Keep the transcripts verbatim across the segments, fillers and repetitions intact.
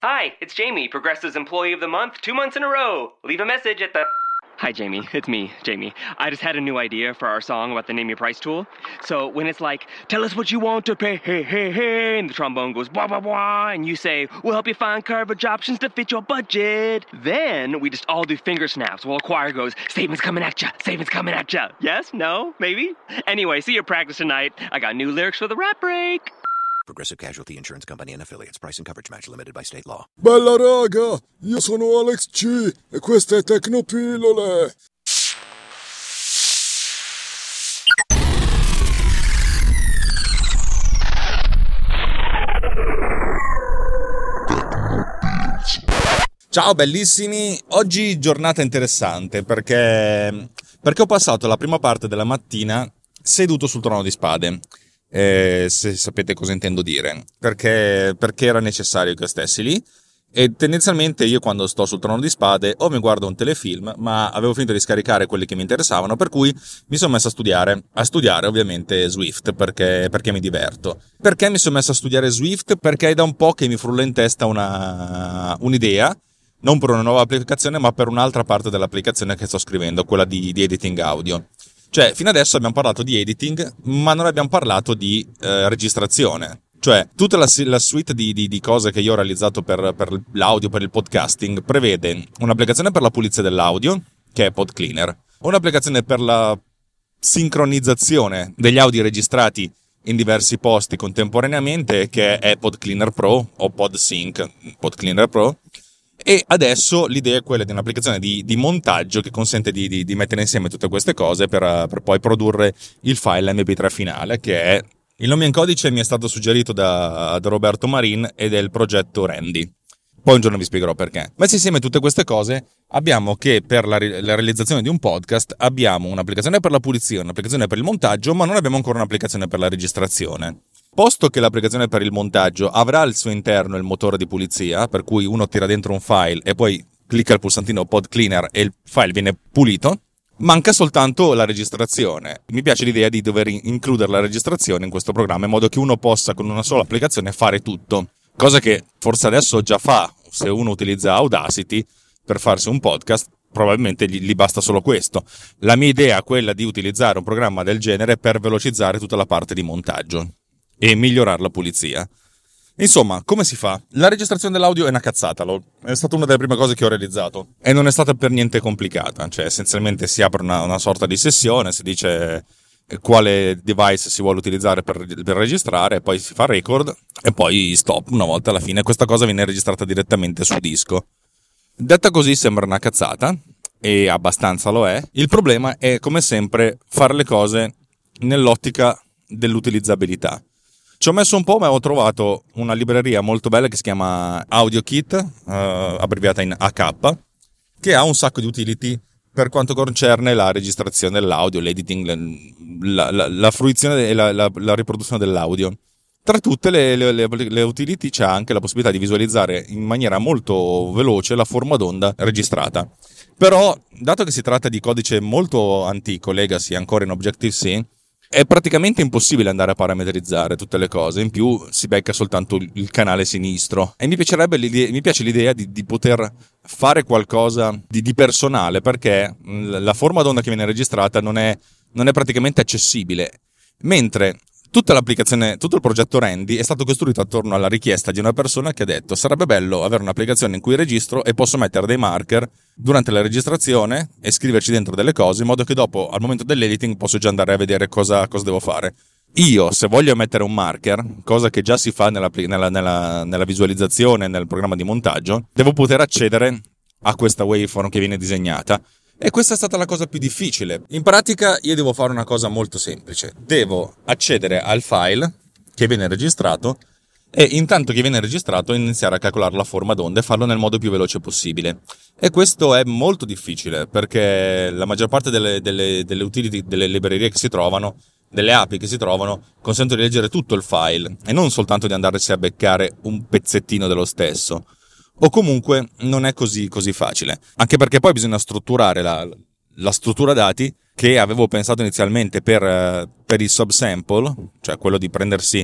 Hi, it's Jamie, Progressive's Employee of the Month, two months in a row. Leave a message at the... Hi, Jamie. It's me, Jamie. I just had a new idea for our song about the Name Your Price tool. So when it's like, tell us what you want to pay, hey, hey, hey, and the trombone goes, blah, blah, blah, and you say, we'll help you find coverage options to fit your budget. Then we just all do finger snaps while a choir goes, statements coming at ya, statements coming at ya. Yes? No? Maybe? Anyway, see your practice tonight. I got new lyrics for the rap break. Progressive Casualty Insurance Company and Affiliates. Price and coverage match limited by state law. Bella raga, io sono Alex G e queste è Tecnopillole. Ciao bellissimi, oggi giornata interessante perché, perché ho passato la prima parte della mattina seduto sul trono di spade. Eh, se sapete cosa intendo dire, perché, perché era necessario che stessi lì, e tendenzialmente io quando sto sul trono di spade o mi guardo un telefilm, ma avevo finito di scaricare quelli che mi interessavano, per cui mi sono messo a studiare a studiare ovviamente Swift, perché, perché mi diverto. Perché mi sono messo a studiare Swift? Perché è da un po' che mi frulla in testa una un'idea, non per una nuova applicazione ma per un'altra parte dell'applicazione che sto scrivendo, quella di, di editing audio. Cioè, fino adesso abbiamo parlato di editing, ma non abbiamo parlato di eh, registrazione. Cioè, tutta la, la suite di, di, di cose che io ho realizzato per, per l'audio, per il podcasting, prevede un'applicazione per la pulizia dell'audio, che è PodCleaner, un'applicazione per la sincronizzazione degli audio registrati in diversi posti contemporaneamente, che è PodCleaner Pro o PodSync, PodCleaner Pro. E adesso l'idea è quella di un'applicazione di, di montaggio che consente di, di, di mettere insieme tutte queste cose per, per poi produrre il file emme pi tre finale, che è il nome in codice mi è stato suggerito da, da Roberto Marin ed è il progetto Randy. Poi un giorno vi spiegherò perché. Messi insieme tutte queste cose, abbiamo che per la, la realizzazione di un podcast abbiamo un'applicazione per la pulizia, un'applicazione per il montaggio, ma non abbiamo ancora un'applicazione per la registrazione. Posto che l'applicazione per il montaggio avrà al suo interno il motore di pulizia, per cui uno tira dentro un file e poi clicca il pulsantino Pod Cleaner e il file viene pulito, manca soltanto la registrazione. Mi piace l'idea di dover includere la registrazione in questo programma in modo che uno possa con una sola applicazione fare tutto, cosa che forse adesso già fa. Se uno utilizza Audacity per farsi un podcast, probabilmente gli, gli basta solo questo. La mia idea è quella di utilizzare un programma del genere per velocizzare tutta la parte di montaggio e migliorare la pulizia. Insomma, come si fa? La registrazione dell'audio è una cazzata, è stata una delle prime cose che ho realizzato e non è stata per niente complicata, cioè essenzialmente si apre una, una sorta di sessione, si dice quale device si vuole utilizzare per, per registrare, poi si fa record e poi stop una volta alla fine. Questa cosa viene registrata direttamente su disco. Detta così sembra una cazzata e abbastanza lo è. Il problema è come sempre fare le cose nell'ottica dell'utilizzabilità. Ci ho messo un po', ma ho trovato una libreria molto bella che si chiama AudioKit, eh, abbreviata in A K, che ha un sacco di utility per quanto concerne la registrazione dell'audio, l'editing, la, la, la fruizione e la, la, la riproduzione dell'audio. Tra tutte le, le, le, le utility c'è anche la possibilità di visualizzare in maniera molto veloce la forma d'onda registrata. Però, dato che si tratta di codice molto antico, legacy, ancora in Objective-C, è praticamente impossibile andare a parametrizzare tutte le cose, in più si becca soltanto il canale sinistro. E mi piacerebbe l'idea, mi piace l'idea di, di poter fare qualcosa di, di personale, perché la forma d'onda che viene registrata non è, non è praticamente accessibile, mentre tutta l'applicazione, tutto il progetto Randy è stato costruito attorno alla richiesta di una persona che ha detto: sarebbe bello avere un'applicazione in cui registro e posso mettere dei marker durante la registrazione e scriverci dentro delle cose in modo che dopo, al momento dell'editing, posso già andare a vedere cosa, cosa devo fare. Io, se voglio mettere un marker, cosa che già si fa nella, nella, nella, nella visualizzazione, nel programma di montaggio, devo poter accedere a questa waveform che viene disegnata. E questa è stata la cosa più difficile. In pratica io devo fare una cosa molto semplice. Devo accedere al file che viene registrato e intanto che viene registrato iniziare a calcolare la forma d'onda e farlo nel modo più veloce possibile. E questo è molto difficile perché la maggior parte delle, delle, delle utility, delle librerie che si trovano, delle api che si trovano, consentono di leggere tutto il file e non soltanto di andarsi a beccare un pezzettino dello stesso. O comunque non è così così facile, anche perché poi bisogna strutturare la, la struttura dati che avevo pensato inizialmente per, per il subsample, cioè quello di prendersi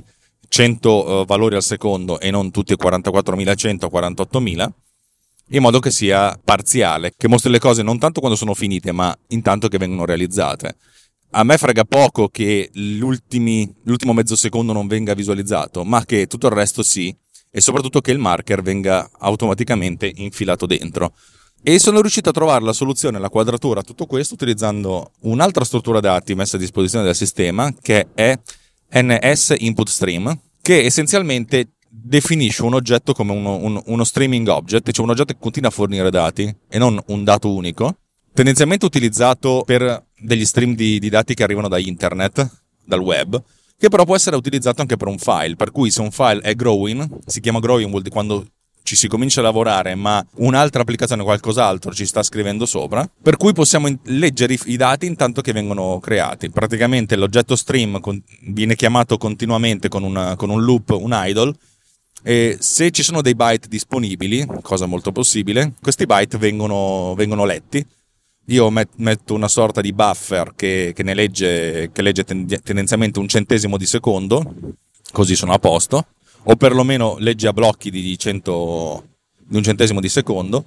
cento uh, valori al secondo e non tutti quarantaquattromilacento o quarantottomila, in modo che sia parziale, che mostri le cose non tanto quando sono finite, ma intanto che vengono realizzate. A me frega poco che l'ultimi, l'ultimo mezzo secondo non venga visualizzato, ma che tutto il resto sì, e soprattutto che il marker venga automaticamente infilato dentro. E sono riuscito a trovare la soluzione, la quadratura a tutto questo, utilizzando un'altra struttura dati messa a disposizione del sistema, che è N S Input Stream, che essenzialmente definisce un oggetto come uno, un, uno streaming object, cioè un oggetto che continua a fornire dati e non un dato unico, tendenzialmente utilizzato per degli stream di, di dati che arrivano da internet, dal web, che però può essere utilizzato anche per un file, per cui se un file è growing, si chiama growing vuol dire quando ci si comincia a lavorare ma un'altra applicazione o qualcos'altro ci sta scrivendo sopra, per cui possiamo in- leggere i, i dati intanto che vengono creati. Praticamente l'oggetto stream con- viene chiamato continuamente con, una, con un loop, un idle, e se ci sono dei byte disponibili, cosa molto possibile, questi byte vengono, vengono letti. Io met- metto una sorta di buffer che, che ne legge, che legge ten- tendenzialmente un centesimo di secondo, così sono a posto, o perlomeno legge a blocchi di, cento, di un centesimo di secondo,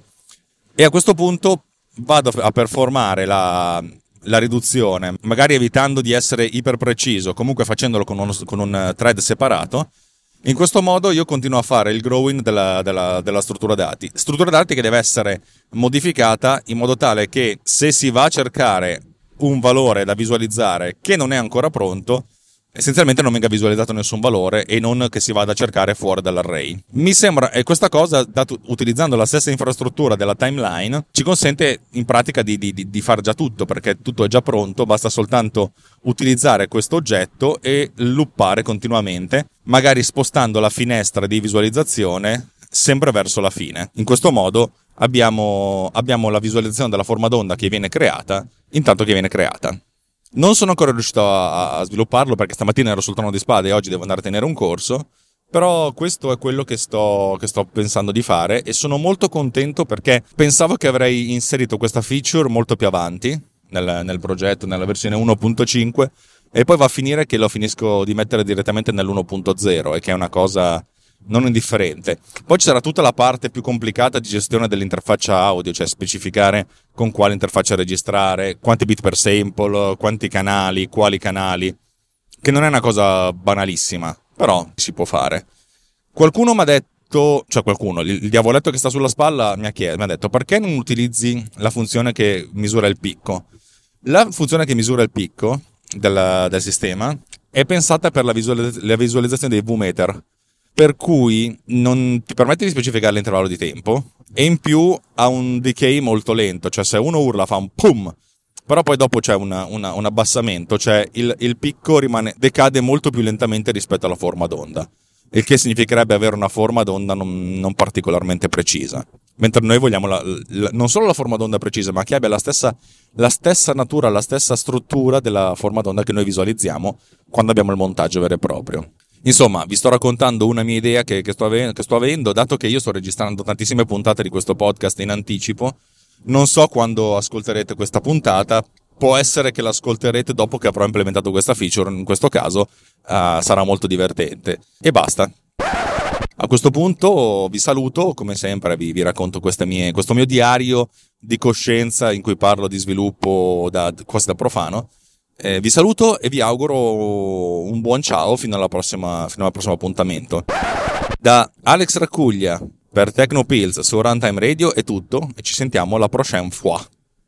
e a questo punto vado a performare la, la riduzione, magari evitando di essere iper preciso, comunque facendolo con, uno, con un thread separato. In questo modo io continuo a fare il growing della, della, della struttura dati. Struttura dati che deve essere modificata in modo tale che se si va a cercare un valore da visualizzare che non è ancora pronto, essenzialmente non venga visualizzato nessun valore e non che si vada a cercare fuori dall'array. Mi sembra, e questa cosa, dato, utilizzando la stessa infrastruttura della timeline, ci consente in pratica di, di, di far già tutto, perché tutto è già pronto, basta soltanto utilizzare questo oggetto e loopare continuamente, magari spostando la finestra di visualizzazione sempre verso la fine. In questo modo abbiamo, abbiamo la visualizzazione della forma d'onda che viene creata intanto che viene creata. Non sono ancora riuscito a, a svilupparlo perché stamattina ero sul trono di spade e oggi devo andare a tenere un corso, però questo è quello che sto, che sto pensando di fare e sono molto contento perché pensavo che avrei inserito questa feature molto più avanti nel, nel progetto, nella versione uno punto cinque, e poi va a finire che lo finisco di mettere direttamente nell'uno punto zero, e che è una cosa non indifferente. Poi ci sarà tutta la parte più complicata di gestione dell'interfaccia audio, cioè specificare con quale interfaccia registrare, quanti bit per sample, quanti canali, quali canali, che non è una cosa banalissima, però si può fare. Qualcuno mi ha detto, cioè qualcuno, il diavoletto che sta sulla spalla mi ha chiesto, mi ha detto: perché non utilizzi la funzione che misura il picco? La funzione che misura il picco del, del sistema è pensata per la, visualizz- la visualizzazione dei V-meter, per cui non ti permette di specificare l'intervallo di tempo e in più ha un decay molto lento, cioè se uno urla fa un pum, però poi dopo c'è una, una, un abbassamento, cioè il, il picco rimane, decade molto più lentamente rispetto alla forma d'onda, il che significherebbe avere una forma d'onda non, non particolarmente precisa, mentre noi vogliamo la, la, non solo la forma d'onda precisa, ma che abbia la stessa, la stessa natura, la stessa struttura della forma d'onda che noi visualizziamo quando abbiamo il montaggio vero e proprio. Insomma, vi sto raccontando una mia idea che, che, sto ave- che sto avendo, dato che io sto registrando tantissime puntate di questo podcast in anticipo. Non so quando ascolterete questa puntata, può essere che l'ascolterete dopo che avrò implementato questa feature, in questo caso uh, sarà molto divertente. E basta. A questo punto vi saluto, come sempre vi, vi racconto queste mie, questo mio diario di coscienza in cui parlo di sviluppo da, quasi da profano. Eh, vi saluto e vi auguro un buon ciao fino alla prossima, fino al prossimo appuntamento. Da Alex Raccuglia per Tecnopills su Runtime Radio è tutto e ci sentiamo la prochaine fois.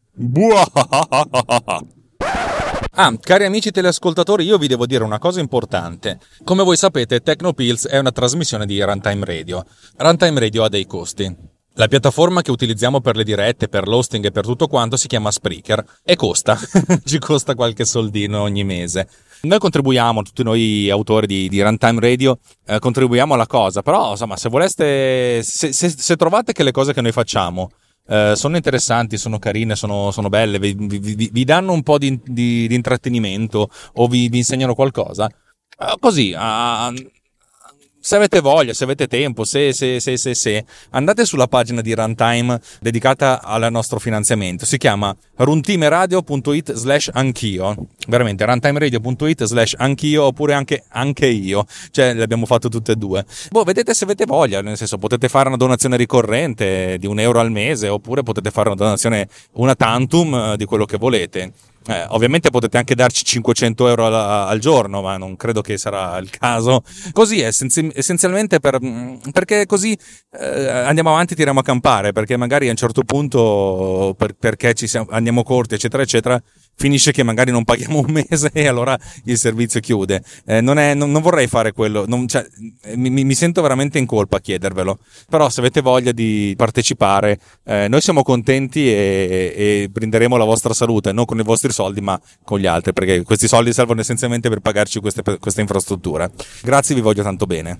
Ah, cari amici teleascoltatori, io vi devo dire una cosa importante. Come voi sapete, Tecnopills è una trasmissione di Runtime Radio. Runtime Radio ha dei costi. La piattaforma che utilizziamo per le dirette, per l'hosting e per tutto quanto si chiama Spreaker e costa, ci costa qualche soldino ogni mese. Noi contribuiamo, tutti noi autori di, di Runtime Radio, eh, contribuiamo alla cosa, però insomma se voleste, se, se, se trovate che le cose che noi facciamo eh, sono interessanti, sono carine, sono, sono belle, vi, vi, vi danno un po' di, di, di intrattenimento o vi, vi insegnano qualcosa, eh, così, a... se avete voglia, se avete tempo, se, se, se, se, se, andate sulla pagina di Runtime dedicata al nostro finanziamento. Si chiama runtimeradio.it slash anch'io. Veramente, runtimeradio.it slash anch'io, oppure anche anche io. Cioè, le abbiamo fatto tutte e due. Boh, vedete se avete voglia, nel senso, potete fare una donazione ricorrente di un euro al mese, oppure potete fare una donazione una tantum di quello che volete. Eh, ovviamente potete anche darci cinquecento euro al, al giorno, ma non credo che sarà il caso. Così è essenzi- essenzialmente per, perché così eh, andiamo avanti, tiriamo a campare, perché magari a un certo punto per, perché ci siamo, andiamo corti eccetera eccetera, finisce che magari non paghiamo un mese e allora il servizio chiude. Eh, non, è, non, non vorrei fare quello, non, cioè, mi, mi sento veramente in colpa a chiedervelo, però se avete voglia di partecipare, eh, noi siamo contenti e, e brinderemo la vostra salute, non con i vostri soldi ma con gli altri, perché questi soldi servono essenzialmente per pagarci queste, queste infrastrutture. Grazie, vi voglio tanto bene.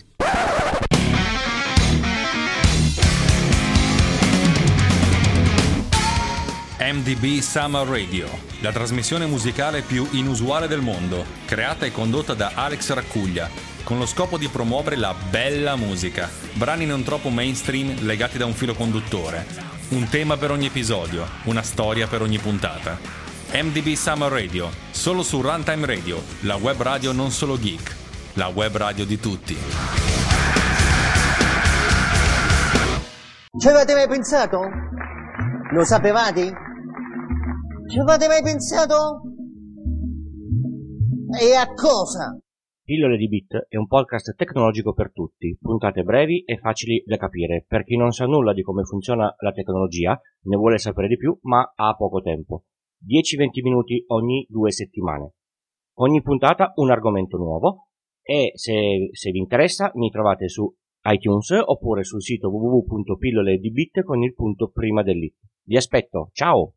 M D B Summer Radio, la trasmissione musicale più inusuale del mondo, creata e condotta da Alex Raccuglia, con lo scopo di promuovere la bella musica, brani non troppo mainstream legati da un filo conduttore, un tema per ogni episodio, una storia per ogni puntata. M D B Summer Radio, solo su Runtime Radio, la web radio non solo geek, la web radio di tutti. Ci avete mai pensato? Lo sapevate? Ci avete mai pensato? E a cosa? Pillole di Bit è un podcast tecnologico per tutti, puntate brevi e facili da capire per chi non sa nulla di come funziona la tecnologia, ne vuole sapere di più ma ha poco tempo. dieci venti minuti ogni due settimane. Ogni puntata un argomento nuovo e se, se vi interessa mi trovate su iTunes oppure sul sito w w w punto pillole di bit con il punto prima dell'it. Vi aspetto, ciao!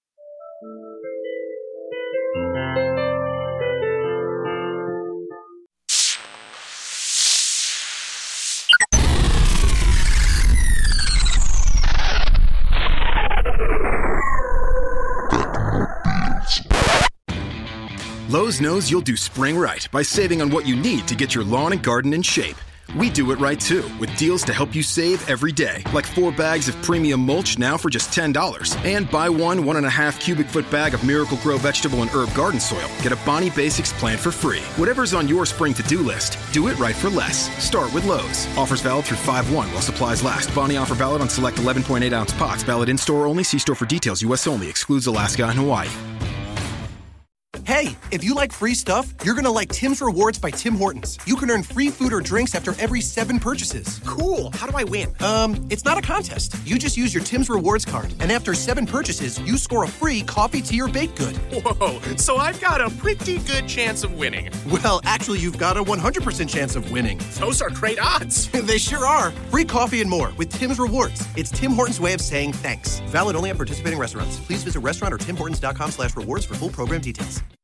Lowe's knows you'll do spring right by saving on what you need to get your lawn and garden in shape. We do it right too, with deals to help you save every day, like four bags of premium mulch now for just ten dollars. And buy one one and a half cubic foot bag of Miracle-Gro vegetable and herb garden soil. Get a Bonnie Basics plant for free. Whatever's on your spring to-do list, do it right for less. Start with Lowe's. Offers valid through five one while supplies last. Bonnie offer valid on select eleven point eight ounce pots. Valid in-store only. See store for details. U S only. Excludes Alaska and Hawaii. Hey, if you like free stuff, you're gonna like Tim's Rewards by Tim Hortons. You can earn free food or drinks after every seven purchases. Cool. How do I win? Um, it's not a contest. You just use your Tim's Rewards card, and after seven purchases, you score a free coffee, tea, or baked good. Whoa, so I've got a pretty good chance of winning. Well, actually, you've got a one hundred percent chance of winning. Those are great odds. They sure are. Free coffee and more with Tim's Rewards. It's Tim Hortons' way of saying thanks. Valid only at participating restaurants. Please visit restaurant or tim hortons dot com slash rewards for full program details.